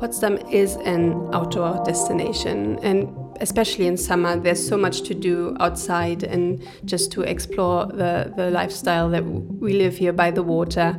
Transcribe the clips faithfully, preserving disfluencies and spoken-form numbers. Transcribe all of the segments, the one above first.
Potsdam is an outdoor destination, and especially in summer, there's so much to do outside and just to explore the, the lifestyle that we live here by the water.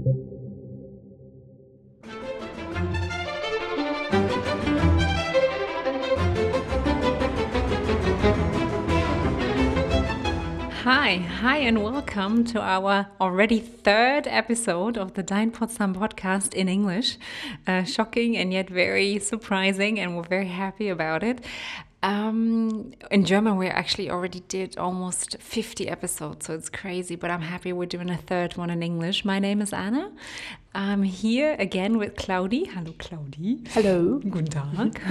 Hi, hi and welcome to our already third episode of the Dein Potsdam podcast in English. Uh, shocking and yet very surprising, and we're very happy about it. Um, in German, we actually already did almost fifty episodes, so it's crazy, but I'm happy we're doing a third one in English. My name is Anna. I'm here again with Claudi. Hello, Claudi. Hello. Guten Tag.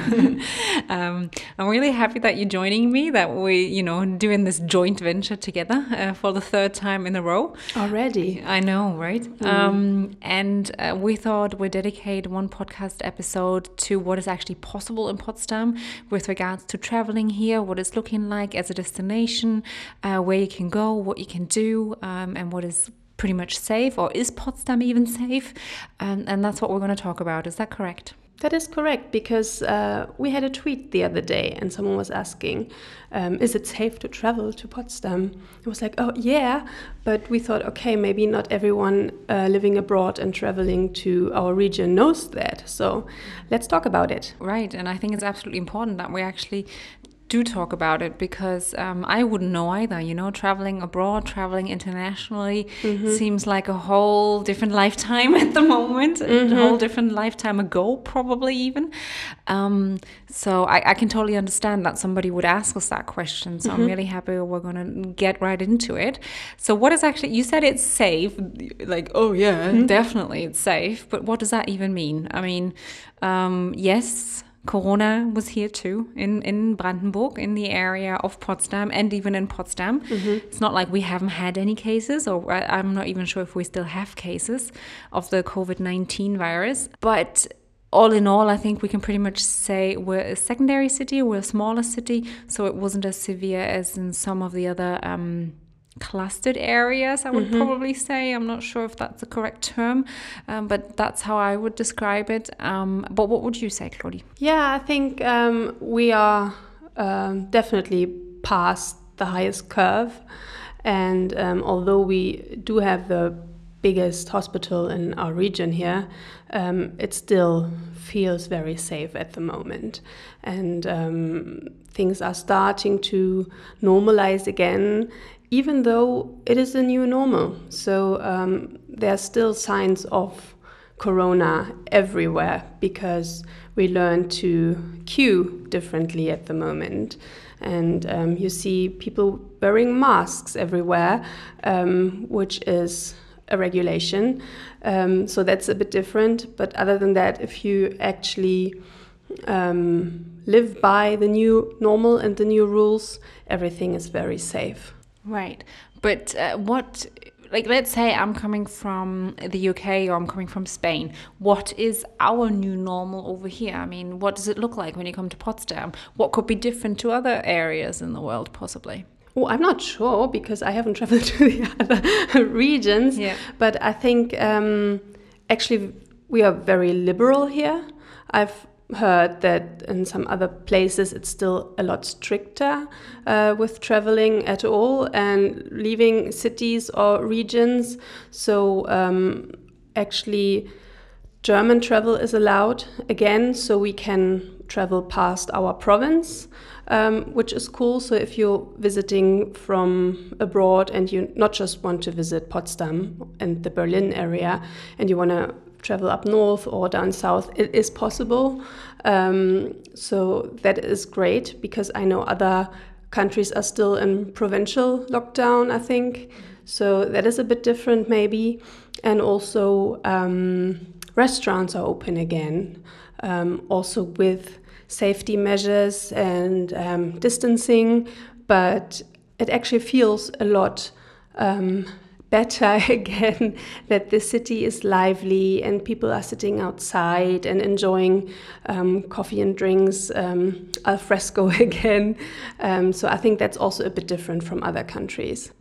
um, I'm really happy that you're joining me, that we, you know, doing this joint venture together uh, for the third time in a row. Already. I know, right? Mm. Um, and uh, we thought we'd dedicate one podcast episode to what is actually possible in Potsdam with regards to traveling here, what it's looking like as a destination, uh, where you can go, what you can do, um, and what is pretty much safe, or is Potsdam even safe? And, and that's what we're going to talk about. Is that correct? That is correct, because uh, we had a tweet the other day and someone was asking, um, is it safe to travel to Potsdam? It was like, oh yeah, but we thought, okay, maybe not everyone uh, living abroad and traveling to our region knows that. So let's talk about it. Right, and I think it's absolutely important that we actually do talk about it, because um, I wouldn't know either, you know, traveling abroad, traveling internationally mm-hmm. seems like a whole different lifetime at the moment, mm-hmm. a whole different lifetime ago, probably even. Um, so I, I can totally understand that somebody would ask us that question. So mm-hmm. I'm really happy we're going to get right into it. So what is actually, you said it's safe, like, oh yeah, mm-hmm. definitely it's safe. But what does that even mean? I mean, um, yes, Corona was here too, in, in Brandenburg, in the area of Potsdam, and even in Potsdam. Mm-hmm. It's not like we haven't had any cases, or I'm not even sure if we still have cases of the covid nineteen virus. But all in all, I think we can pretty much say we're a secondary city, we're a smaller city, so it wasn't as severe as in some of the other um clustered areas, I would mm-hmm. probably say. I'm not sure if that's the correct term, um, but that's how I would describe it. Um, but what would you say, Claudi? Yeah, I think um, we are um, definitely past the highest curve. And um, although we do have the biggest hospital in our region here, um, it still feels very safe at the moment. And um, things are starting to normalize again, even though it is a new normal. So um, there are still signs of corona everywhere, because we learn to queue differently at the moment. And um, you see people wearing masks everywhere, um, which is a regulation. Um, so that's a bit different. But other than that, if you actually um, live by the new normal and the new rules, everything is very safe. Right. But uh, what, like, let's say I'm coming from the U K or I'm coming from Spain. What is our new normal over here? I mean, what does it look like when you come to Potsdam? What could be different to other areas in the world, possibly? Oh, I'm not sure, because I haven't traveled to the other regions. Yeah. But I think um, actually we are very liberal here. I've heard that in some other places it's still a lot stricter uh, with traveling at all and leaving cities or regions. So um, actually German travel is allowed again, so we can travel past our province, um, which is cool. So if you're visiting from abroad and you not just want to visit Potsdam and the Berlin area, and you want to travel up north or down south, it is possible. Um, so that is great, because I know other countries are still in provincial lockdown, I think. So that is a bit different maybe. And also um, restaurants are open again, um, also with safety measures and um, distancing, but it actually feels a lot um, better again, that the city is lively and people are sitting outside and enjoying um, coffee and drinks um, al fresco again. Um, so I think that's also a bit different from other countries. Hmm.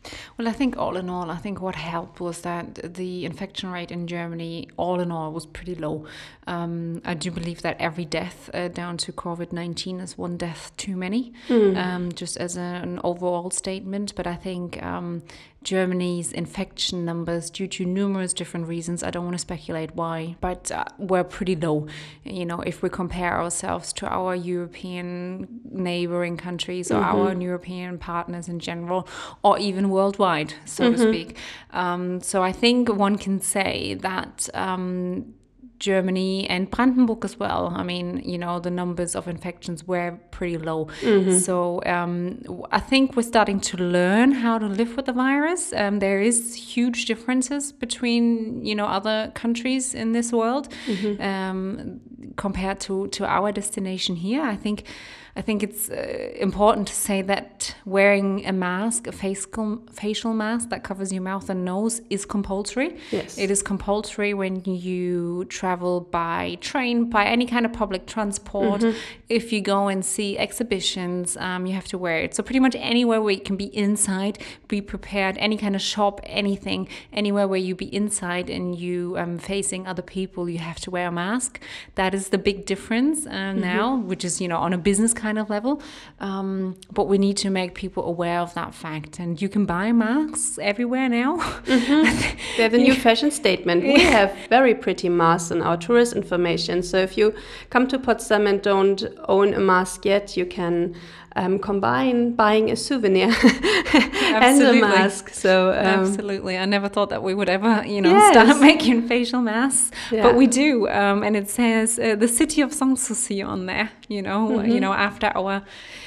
Well, I think all in all, I think what helped was that the infection rate in Germany, all in all, was pretty low. Um, I do believe that every death uh, down to COVID nineteen is one death too many, mm. um, just as a, an overall statement. But I think um, Germany's infection numbers, due to numerous different reasons, I don't want to speculate why, but uh, were pretty low. You know, if we compare ourselves to our European neighboring countries or mm-hmm. our European partners in general, or even worldwide, so mm-hmm. to speak. Um, so I think one can say that um, Germany and Brandenburg as well. I mean, you know, the numbers of infections were pretty low. Mm-hmm. So um, I think we're starting to learn how to live with the virus. Um, there is huge differences between, you know, other countries in this world mm-hmm. um, compared to, to our destination here. I think I think it's uh, important to say that wearing a mask, a facial facial mask that covers your mouth and nose, is compulsory. Yes. It is compulsory when you travel by train, by any kind of public transport. Mm-hmm. If you go and see exhibitions, um, you have to wear it. So pretty much anywhere where you can be inside, be prepared, any kind of shop, anything, anywhere where you be inside and you um facing other people, you have to wear a mask. That is the big difference uh, mm-hmm. now, which is, you know, on a business kind of level, um, but we need to make people aware of that fact. And you can buy masks everywhere now. Mm-hmm. They have a new fashion statement. We have very pretty masks on our tourist information. So if you come to Potsdam and don't own a mask yet, you can um, combine buying a souvenir and a mask. So um, absolutely, I never thought that we would ever, you know, yes. start making facial masks, yeah. but we do, um, and it says uh, the city of Sanssouci on there. You know, mm-hmm. you know, after our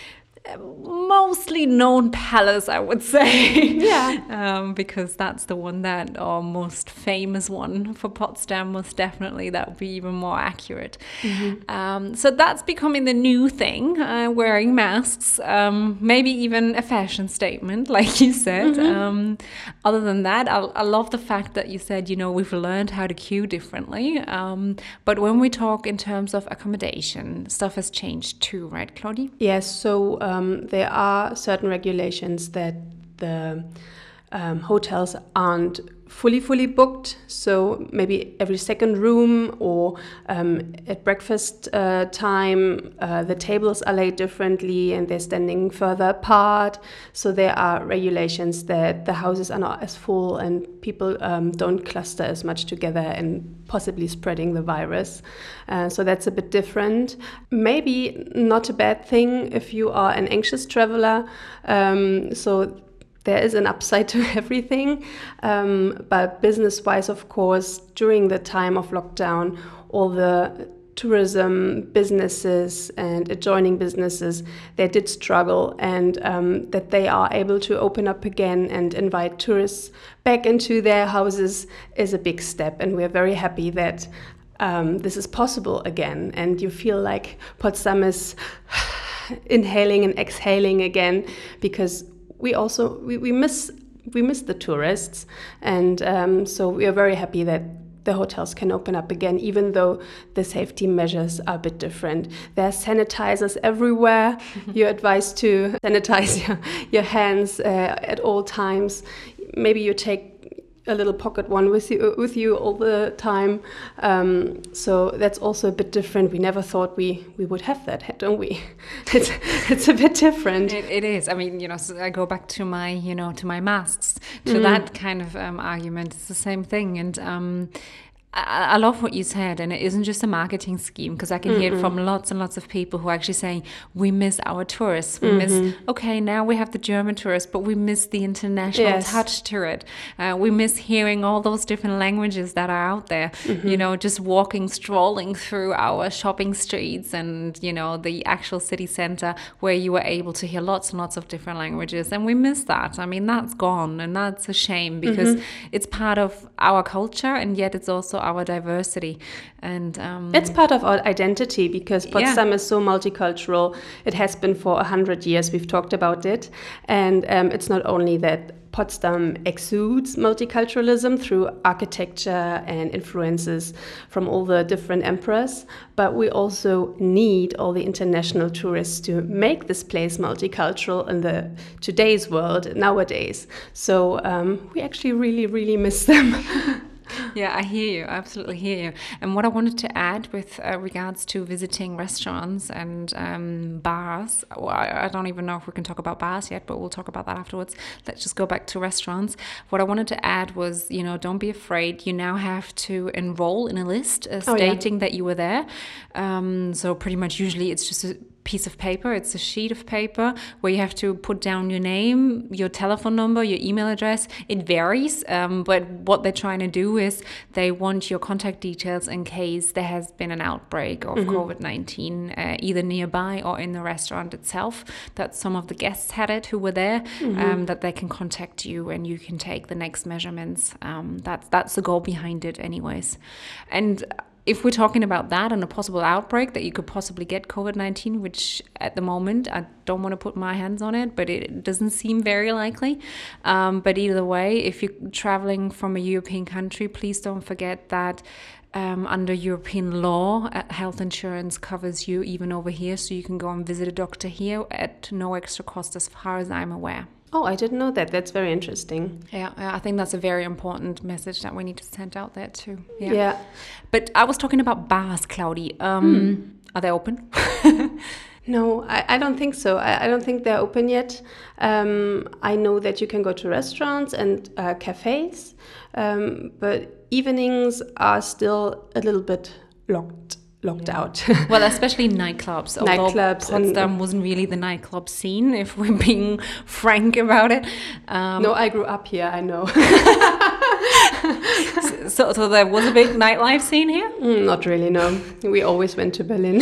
mostly known palace, I would say. Yeah. um, because that's the one that, our most famous one for Potsdam, most definitely, that would be even more accurate. Mm-hmm. Um, so that's becoming the new thing, uh, wearing masks, um, maybe even a fashion statement, like you said. Mm-hmm. Um, other than that, I, I love the fact that you said, you know, we've learned how to queue differently. Um, but when we talk in terms of accommodation, stuff has changed too, right, Claudie? Yes, so um, Um, there are certain regulations that the um, hotels aren't fully, fully booked. So maybe every second room or um, at breakfast uh, time, uh, the tables are laid differently and they're standing further apart. So there are regulations that the houses are not as full and people um, don't cluster as much together and possibly spreading the virus. Uh, so that's a bit different. Maybe not a bad thing if you are an anxious traveler. Um, so there is an upside to everything, um, but business-wise, of course, during the time of lockdown, all the tourism businesses and adjoining businesses, they did struggle, and um, that they are able to open up again and invite tourists back into their houses is a big step, and we're very happy that um, this is possible again, and you feel like Potsdam is inhaling and exhaling again, because we also we, we miss we miss the tourists, and um, so we are very happy that the hotels can open up again, even though the safety measures are a bit different. There are sanitizers everywhere. You're advised to sanitize your, your hands uh, at all times. Maybe you take a little pocket one with you with you all the time. Um, so that's also a bit different. We never thought we, we would have that, don't we? It's it's a bit different. It, it is. I mean, you know, so I go back to my, you know, to my masks, to mm. that kind of um, argument. It's the same thing. And um, I, I love what you said, and it isn't just a marketing scheme, because I can Mm-mm. hear it from lots and lots of people who are actually saying, we miss our tourists. We mm-hmm. miss, okay, now we have the German tourists, but we miss the international yes. touch to it. Uh, we miss hearing all those different languages that are out there, mm-hmm. you know, just walking, strolling through our shopping streets and, you know, the actual city center where you were able to hear lots and lots of different languages. And we miss that. I mean, that's gone, and that's a shame, because mm-hmm. it's part of our culture, and yet it's also our diversity. And um, it's part of our identity because Potsdam yeah. is so multicultural. It has been for a hundred years. We've talked about it. And um, it's not only that Potsdam exudes multiculturalism through architecture and influences from all the different emperors, but we also need all the international tourists to make this place multicultural in the today's world, nowadays. So um, we actually really, really miss them. Yeah, I hear you. I absolutely hear you. And what I wanted to add with uh, regards to visiting restaurants and um, bars, well, I, I don't even know if we can talk about bars yet, but we'll talk about that afterwards. Let's just go back to restaurants. What I wanted to add was, you know, don't be afraid. You now have to enroll in a list uh, stating oh, yeah. that you were there. Um, so pretty much usually it's just a piece of paper. It's a sheet of paper where you have to put down your name, your telephone number, your email address. It varies, um, but what they're trying to do is they want your contact details in case there has been an outbreak of mm-hmm. COVID nineteen, uh, either nearby or in the restaurant itself, that some of the guests had it who were there, mm-hmm. um, that they can contact you and you can take the next measurements. Um, that's, that's the goal behind it anyways. And if we're talking about that and a possible outbreak that you could possibly get COVID nineteen, which at the moment, I don't want to put my hands on it, but it doesn't seem very likely. Um, but either way, if you're traveling from a European country, please don't forget that um, under European law, uh, health insurance covers you even over here. So you can go and visit a doctor here at no extra cost as far as I'm aware. Oh, I didn't know that. That's very interesting. Yeah, I think that's a very important message that we need to send out there too. Yeah. yeah. But I was talking about bars, Claudi. Um, hmm. Are they open? No, I, I don't think so. I, I don't think they're open yet. Um, I know that you can go to restaurants and uh, cafes, um, but evenings are still a little bit locked. locked yeah. out. Well, especially nightclubs. Nightclubs. Potsdam and wasn't really the nightclub scene, if we're being frank about it. Um, no, I grew up here, I know. so, so there was a big nightlife scene here? Mm, not really, no. We always went to Berlin.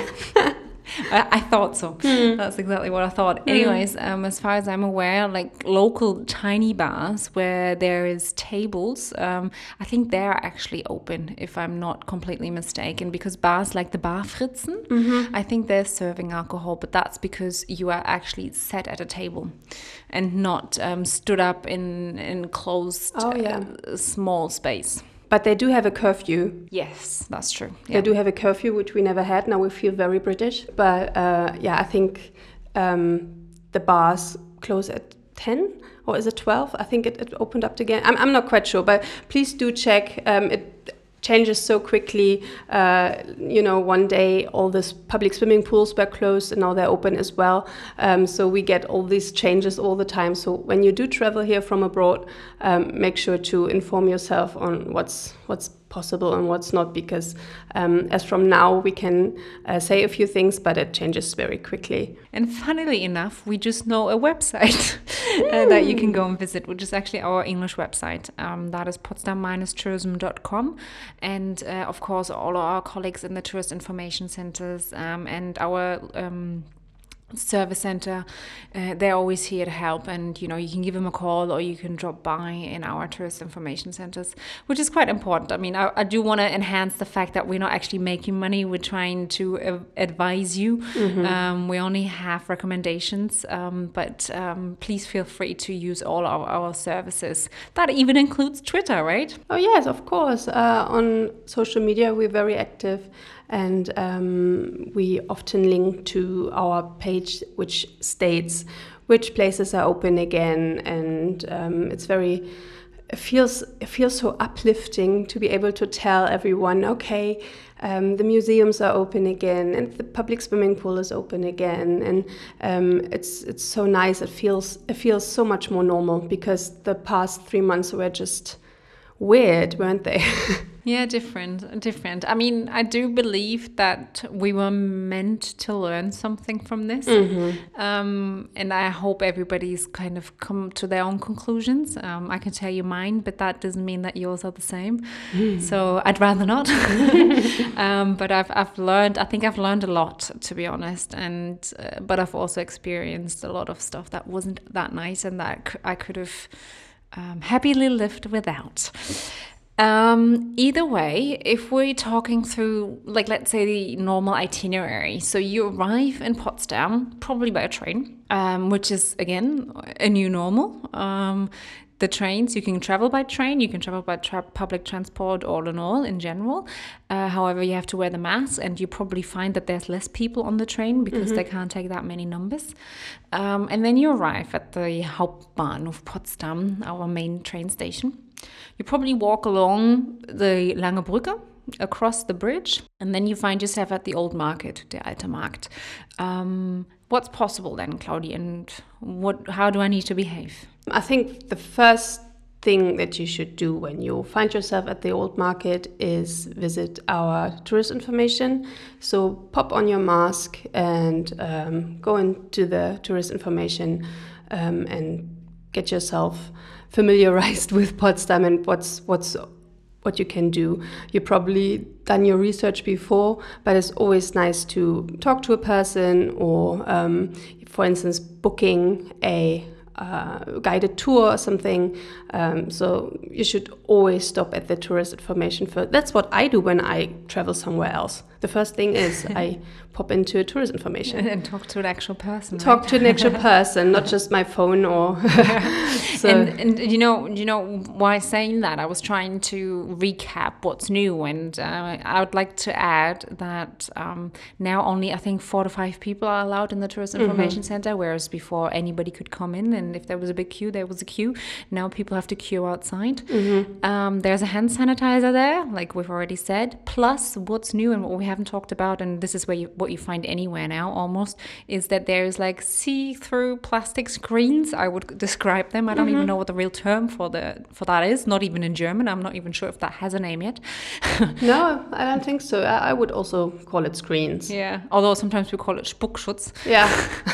I, I thought so. Mm. That's exactly what I thought. Mm. Anyways, um, as far as I'm aware, like local tiny bars where there is tables, um, I think they're actually open, if I'm not completely mistaken, because bars like the Bar Fritzen, mm-hmm. I think they're serving alcohol, but that's because you are actually sat at a table and not um, stood up in in closed oh, yeah. uh, small space. But they do have a curfew. Yes, that's true. Yeah. They do have a curfew, which we never had. Now we feel very British. But uh, yeah, I think um, the bars close at ten, or is it twelve? I think it, it opened up again. I'm, I'm not quite sure, but please do check. Um, it changes so quickly. Uh, you know, one day all these public swimming pools were closed and now they're open as well. Um, so we get all these changes all the time. So when you do travel here from abroad, um, make sure to inform yourself on what's what's possible and what's not, because um, as from now we can uh, say a few things, but it changes very quickly. And funnily enough, we just know a website uh, that you can go and visit, which is actually our English website. Um, that is potsdam dash tourism dot com. And uh, of course, all our colleagues in the tourist information centers um, and our um, service center, uh, they're always here to help, and you know, you can give them a call or you can drop by in our tourist information centers, which is quite important. I mean, I, I do want to enhance the fact that we're not actually making money. We're trying to uh, advise you. Mm-hmm. Um, we only have recommendations, um, but um, please feel free to use all our, our services. That even includes Twitter, right? Oh yes, of course. Uh, on social media, we're very active. And um, we often link to our page, which states which places are open again. And um, it's very, it feels, it feels so uplifting to be able to tell everyone, okay, um, the museums are open again and the public swimming pool is open again. And um, it's it's so nice. It feels it feels so much more normal, because the past three months were just weird, weren't they? Yeah, different, different. I mean, I do believe that we were meant to learn something from this. Mm-hmm. Um, and I hope everybody's kind of come to their own conclusions. Um, I can tell you mine, but that doesn't mean that yours are the same. Mm. So I'd rather not. um, but I've I've learned, I think I've learned a lot, to be honest. And uh, but I've also experienced a lot of stuff that wasn't that nice and that I could have um, happily lived without. Um, either way, if we're talking through, like, let's say the normal itinerary, so you arrive in Potsdam, probably by a train, um, which is, again, a new normal. Um, the trains, you can travel by train, you can travel by tra- public transport, all in all, in general. Uh, however, you have to wear the mask, and you probably find that there's less people on the train because mm-hmm. they can't take that many numbers. Um, and then you arrive at the Hauptbahnhof Potsdam, our main train station. You probably walk along the Lange Brücke, across the bridge, and then you find yourself at the old market, der Alte Markt. Um, what's possible then, Claudia, and what? How do I need to behave? I think the first thing that you should do when you find yourself at the old market is visit our tourist information. So pop on your mask and um, go into the tourist information um, and get yourself familiarized with Potsdam and what's what's what you can do. You've probably done your research before, but it's always nice to talk to a person or, um, for instance, booking a uh, guided tour or something. Um, so you should always stop at the tourist information first. That's what I do when I travel somewhere else. The first thing is I pop into a tourist information. And talk to an actual person. Talk right? to an actual person, not just my phone or... so. And, and you know, you know why saying that? I was trying to recap what's new, and uh, I would like to add that um, now only, I think, four to five people are allowed in the tourist information mm-hmm. center, whereas before anybody could come in, and if there was a big queue, there was a queue. Now people have to queue outside. Mm-hmm. Um, there's a hand sanitizer there, like we've already said. Plus, what's new and what we haven't talked about, and this is where you, what you find anywhere now almost, is that there's like see-through plastic screens. I would describe them. I don't mm-hmm. even know what the real term for the for that is. Not even in German. I'm not even sure if that has a name yet. No, I don't think so. I, I would also call it screens. Yeah, although sometimes we call it Spuckschutz. Yeah.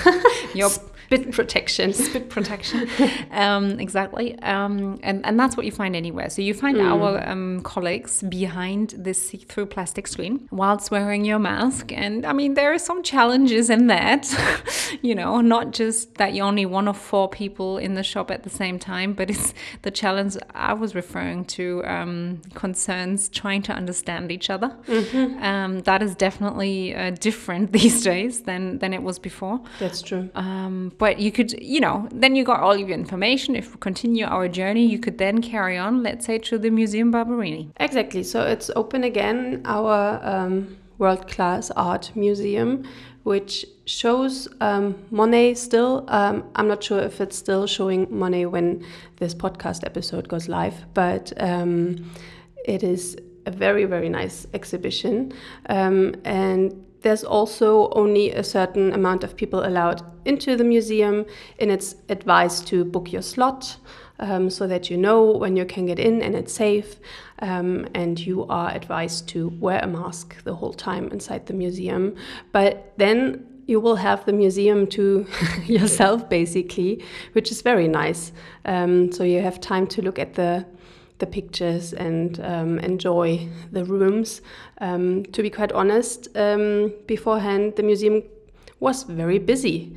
Your spit protection. Spit protection. um, exactly. Um, and, and that's what you find anywhere. So you find mm. our um, colleagues behind this see-through plastic screen whilst wearing your mask. And I mean, there are some challenges in that, you know, not just that you're only one of four people in the shop at the same time, but it's the challenge I was referring to, um, concerns trying to understand each other. Mm-hmm. Um, that is definitely uh, different these days than, than it was before. That's true. Um, but you could, you know, then you got all of your information. If we continue our journey, you could then carry on, let's say, to the Museum Barberini. Exactly. So it's open again, our um, world-class art museum, which shows um, Monet still. Um, I'm not sure if it's still showing Monet when this podcast episode goes live, but um, it is a very, very nice exhibition. Um, and there's also only a certain amount of people allowed into the museum, and it's advised to book your slot um, so that you know when you can get in and it's safe. Um, and you are advised to wear a mask the whole time inside the museum. But then you will have the museum to yourself, basically, which is very nice. Um, so you have time to look at the the pictures and um, enjoy the rooms. Um, to be quite honest, um, beforehand the museum was very busy,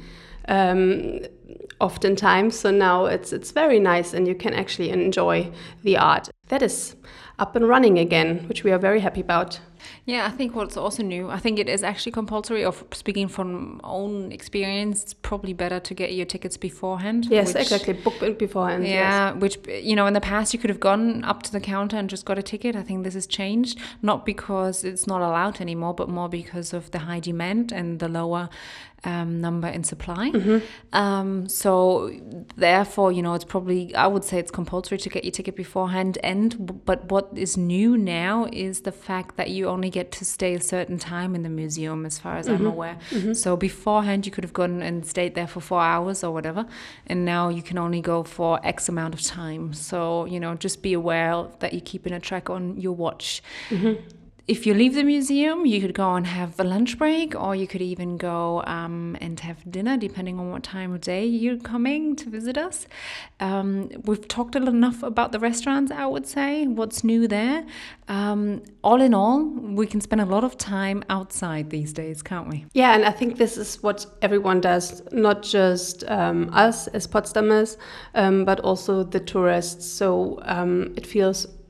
um, oftentimes. So now it's it's very nice, and you can actually enjoy the art. That is up and running again, which we are very happy about. Yeah, I think what's also new, I think it is actually compulsory, of speaking from own experience, it's probably better to get your tickets beforehand. Yes, which, exactly, book it beforehand. Yeah, yes. Which, you know, in the past you could have gone up to the counter and just got a ticket. I think this has changed, not because it's not allowed anymore, but more because of the high demand and the lower um, number in supply. Mm-hmm. Um, so therefore, you know, it's probably, I would say it's compulsory to get your ticket beforehand. And but what is new now is the fact that you only get to stay a certain time in the museum, as far as mm-hmm. I'm aware. Mm-hmm. So beforehand you could have gone and stayed there for four hours or whatever, and now you can only go for X amount of time. So, you know, just be aware that you're keeping a track on your watch. Mm-hmm. If you leave the museum, you could go and have a lunch break, or you could even go um, and have dinner, depending on what time of day you're coming to visit us. Um, we've talked enough about the restaurants, I would say, what's new there. Um, all in all, we can spend a lot of time outside these days, can't we? Yeah, and I think this is what everyone does, not just um, us as Potsdamers, um, but also the tourists. So um, it feels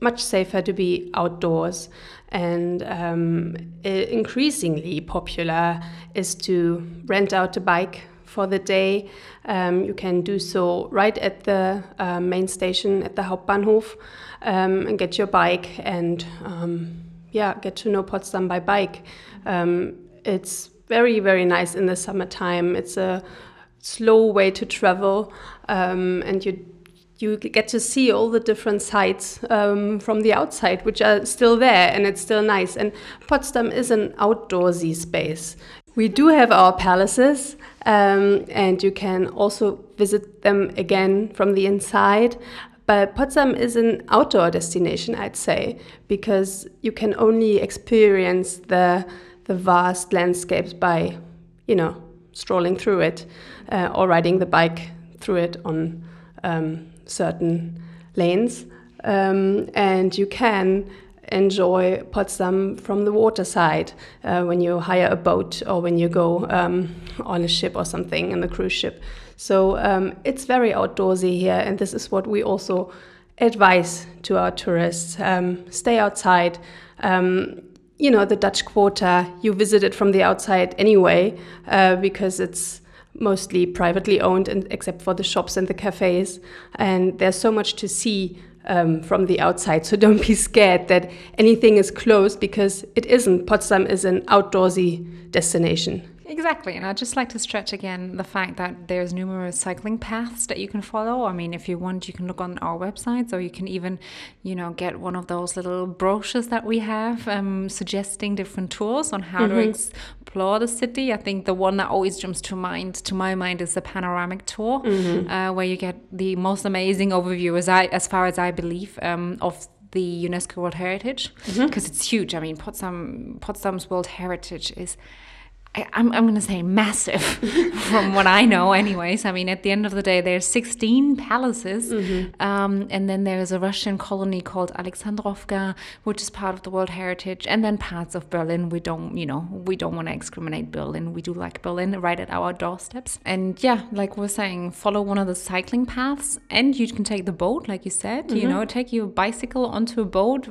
much safer to be outdoors. And um, increasingly popular is to rent out a bike for the day. Um, you can do so right at the uh, main station at the Hauptbahnhof um, and get your bike and um, yeah, get to know Potsdam by bike. Um, it's very, very nice in the summertime. It's a slow way to travel um, and you you get to see all the different sites um, from the outside, which are still there, and it's still nice. And Potsdam is an outdoorsy space. We do have our palaces, um, and you can also visit them again from the inside. But Potsdam is an outdoor destination, I'd say, because you can only experience the the vast landscapes by, you know, strolling through it uh, or riding the bike through it on um, certain lanes, um, and you can enjoy Potsdam from the water side uh, when you hire a boat or when you go um, on a ship or something in the cruise ship. So um, it's very outdoorsy here, and this is what we also advise to our tourists. Um, stay outside. Um, you know, the Dutch Quarter, you visit it from the outside anyway uh, because it's mostly privately owned, and except for the shops and the cafes. And there's so much to see um, from the outside. So don't be scared that anything is closed, because it isn't. Potsdam is an outdoorsy destination. Exactly. And I'd just like to stretch again the fact that there's numerous cycling paths that you can follow. I mean, if you want, you can look on our websites, or you can even, you know, get one of those little brochures that we have um, suggesting different tours on how mm-hmm. to explore the city. I think the one that always jumps to mind, to my mind, is the panoramic tour, mm-hmm. uh, where you get the most amazing overview, as I, as far as I believe, um, of the UNESCO World Heritage, because mm-hmm. it's huge. I mean, Potsdam, Potsdam's World Heritage is, I, I'm, I'm going to say massive from what I know anyways. I mean, at the end of the day, there's sixteen palaces. Mm-hmm. Um, and then there's a Russian colony called Alexandrovka, which is part of the World Heritage. And then parts of Berlin. We don't, you know, we don't want to excrimine Berlin. We do like Berlin right at our doorsteps. And yeah, like we're saying, follow one of the cycling paths. And you can take the boat, like you said, mm-hmm. you know, take your bicycle onto a boat.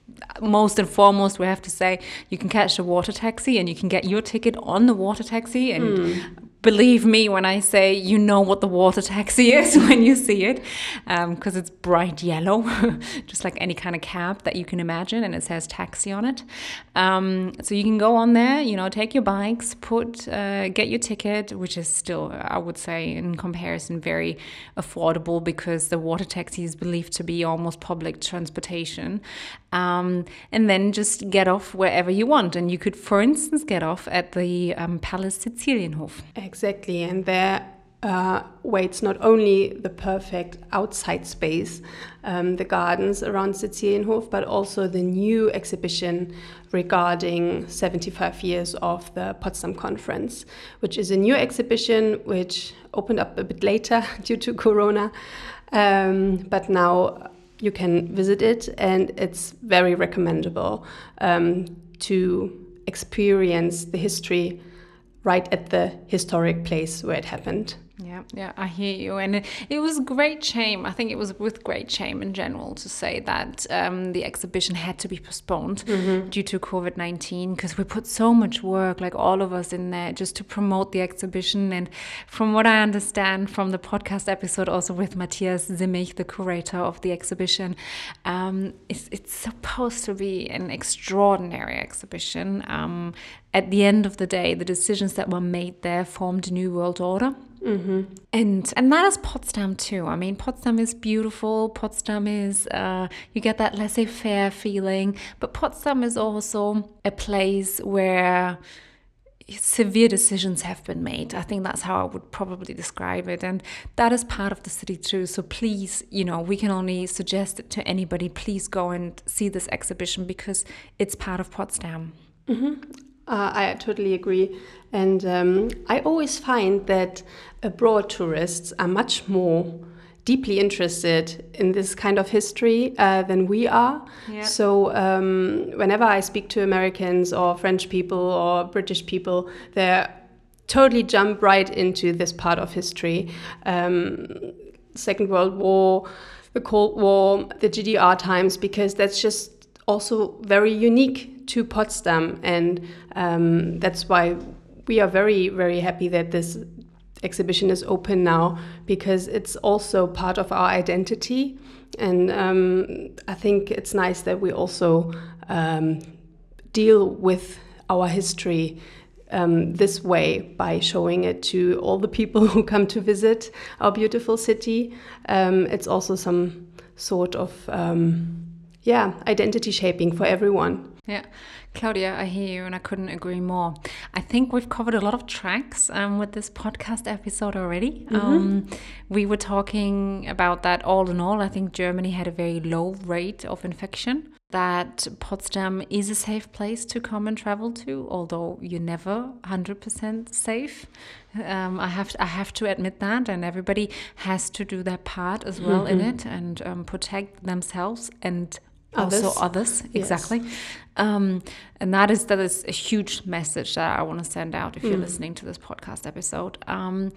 Most and foremost, we have to say, you can catch a water taxi and you can get your ticket on the water taxi. And mm. believe me when I say, you know what the water taxi is when you see it, because um, it's bright yellow, just like any kind of cab that you can imagine, and it says taxi on it. Um, so you can go on there, you know, take your bikes, put, uh, get your ticket, which is still, I would say, in comparison, very affordable, because the water taxi is believed to be almost public transportation. Um, and then just get off wherever you want. And you could, for instance, get off at the um, Palace Sizilienhof. Exactly. And there uh, waits not only the perfect outside space, um, the gardens around Sizilienhof, but also the new exhibition regarding seventy-five years of the Potsdam Conference, which is a new exhibition which opened up a bit later due to Corona. Um, but now you can visit it, and it's very recommendable um, to experience the history right at the historic place where it happened. Yeah, yeah, I hear you. And it, it was great shame. I think it was with great shame in general to say that um, the exhibition had to be postponed mm-hmm. due to covid nineteen, because we put so much work, like all of us, in there just to promote the exhibition. And from what I understand from the podcast episode also with Matthias Zimmich, the curator of the exhibition, um, it's, it's supposed to be an extraordinary exhibition. Um, at the end of the day, the decisions that were made there formed a new world order. Mm-hmm. And and that is Potsdam too. I mean, Potsdam is beautiful. Potsdam is, uh, you get that laissez-faire feeling. But Potsdam is also a place where severe decisions have been made. I think that's how I would probably describe it. And that is part of the city too. So please, you know, we can only suggest it to anybody. Please go and see this exhibition, because it's part of Potsdam. Mm-hmm. Uh, I totally agree. And um, I always find that abroad tourists are much more deeply interested in this kind of history uh, than we are. Yeah. So um, whenever I speak to Americans or French people or British people, they totally jump right into this part of history. Um, Second World War, the Cold War, the G D R times, because that's just also very unique to Potsdam. And um, that's why we are very, very happy that this exhibition is open now, because it's also part of our identity. And um, I think it's nice that we also um, deal with our history um, this way, by showing it to all the people who come to visit our beautiful city. Um, it's also some sort of um, yeah, identity shaping for everyone. Yeah, Claudia, I hear you, and I couldn't agree more. I think we've covered a lot of tracks um, with this podcast episode already. Mm-hmm. Um, we were talking about that all in all. I think Germany had a very low rate of infection, that Potsdam is a safe place to come and travel to, although you're never one hundred percent safe. Um, I have to, I have to admit that, and everybody has to do their part as well mm-hmm. in it, and um, protect themselves and others. Also others, exactly. Yes. Um, and that is that is a huge message that I want to send out if mm. you're listening to this podcast episode. Um,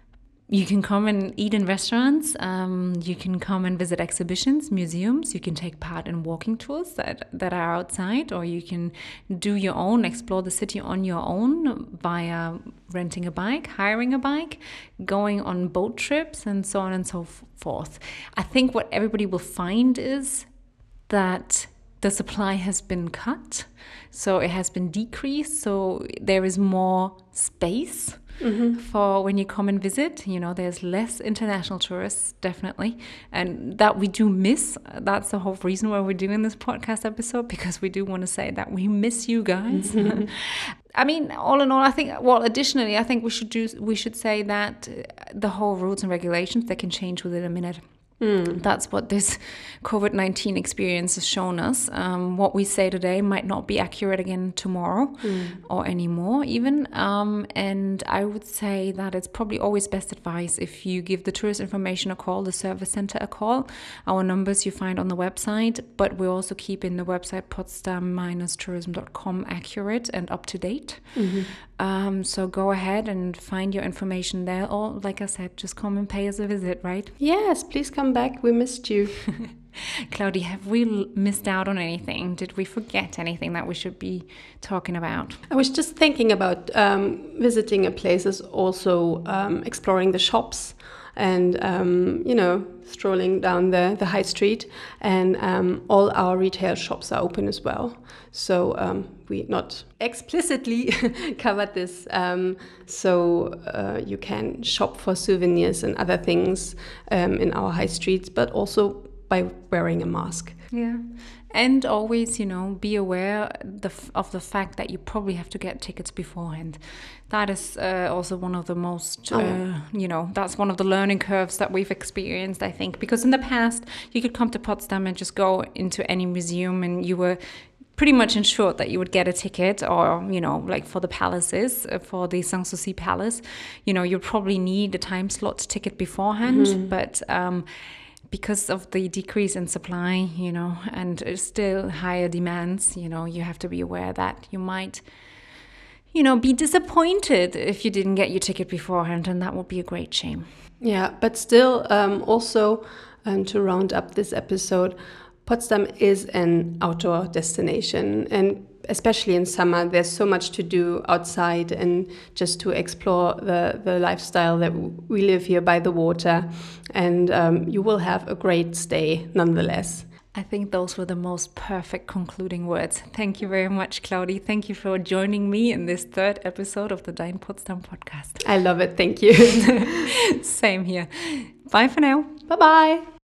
you can come and eat in restaurants. Um, you can come and visit exhibitions, museums. You can take part in walking tours that, that are outside, or you can do your own, explore the city on your own via renting a bike, hiring a bike, going on boat trips, and so on and so forth. I think what everybody will find is that the supply has been cut, so it has been decreased, so there is more space mm-hmm. for when you come and visit. You know, there's less international tourists, definitely, and that we do miss. That's the whole reason why we're doing this podcast episode, because we do want to say that we miss you guys. Mm-hmm. I mean, all in all, I think, well, additionally, I think we should do, we should say that the whole rules and regulations, they can change within a minute. Mm. That's what this COVID nineteen experience has shown us. Um, what we say today might not be accurate again tomorrow mm. or anymore even. Um, and I would say that it's probably always best advice if you give the tourist information a call, the service center a call. Our numbers you find on the website, but we're also keeping the website potsdam dash tourism dot com accurate and up to date. Mm-hmm. Um, so go ahead and find your information there. Or like I said, just come and pay us a visit, right? Yes, please come back. We missed you. Claudia, have we missed out on anything? Did we forget anything that we should be talking about? I was just thinking about um, visiting a place is also um, exploring the shops and, um, you know, strolling down the, the high street. And um, all our retail shops are open as well. So um, we not explicitly covered this. Um, so uh, you can shop for souvenirs and other things um, in our high streets, but also by wearing a mask. Yeah. And always, you know, be aware the, of the fact that you probably have to get tickets beforehand. That is uh, also one of the most, oh, yeah. uh, you know, that's one of the learning curves that we've experienced, I think. Because in the past, you could come to Potsdam and just go into any museum and you were pretty much ensured that you would get a ticket, or, you know, like for the palaces, uh, for the Sanssouci Palace, you know, you'd probably need a time slot ticket beforehand. Mm-hmm. But um, because of the decrease in supply, you know, and still higher demands, you know, you have to be aware that you might, you know, be disappointed if you didn't get your ticket beforehand, and that would be a great shame. Yeah, but still, um, also, um, to round up this episode, Potsdam is an outdoor destination, and especially in summer, there's so much to do outside and just to explore the, the lifestyle that we live here by the water. And um, you will have a great stay nonetheless. I think those were the most perfect concluding words. Thank you very much, Claudia. Thank you for joining me in this third episode of the Dein Potsdam podcast. I love it. Thank you. Same here. Bye for now. Bye-bye.